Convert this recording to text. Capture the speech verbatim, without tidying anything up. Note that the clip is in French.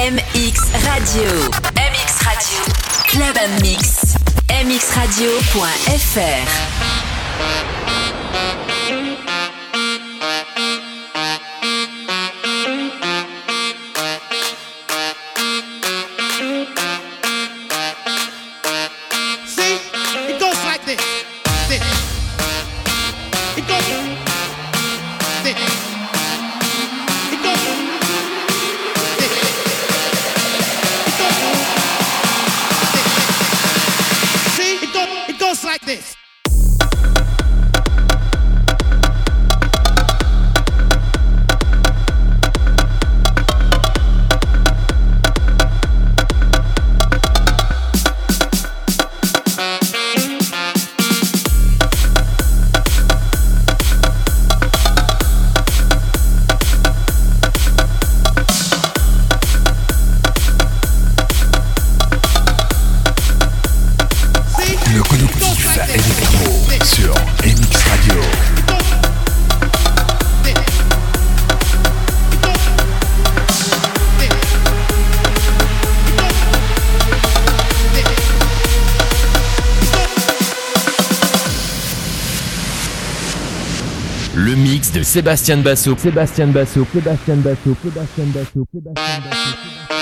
M X Radio. M X Radio. Club and Mix. m x radio point f r. De Sébastien Basso, Sébastien Basso, Sébastien Basso, Sébastien Basso, Sébastien Basso.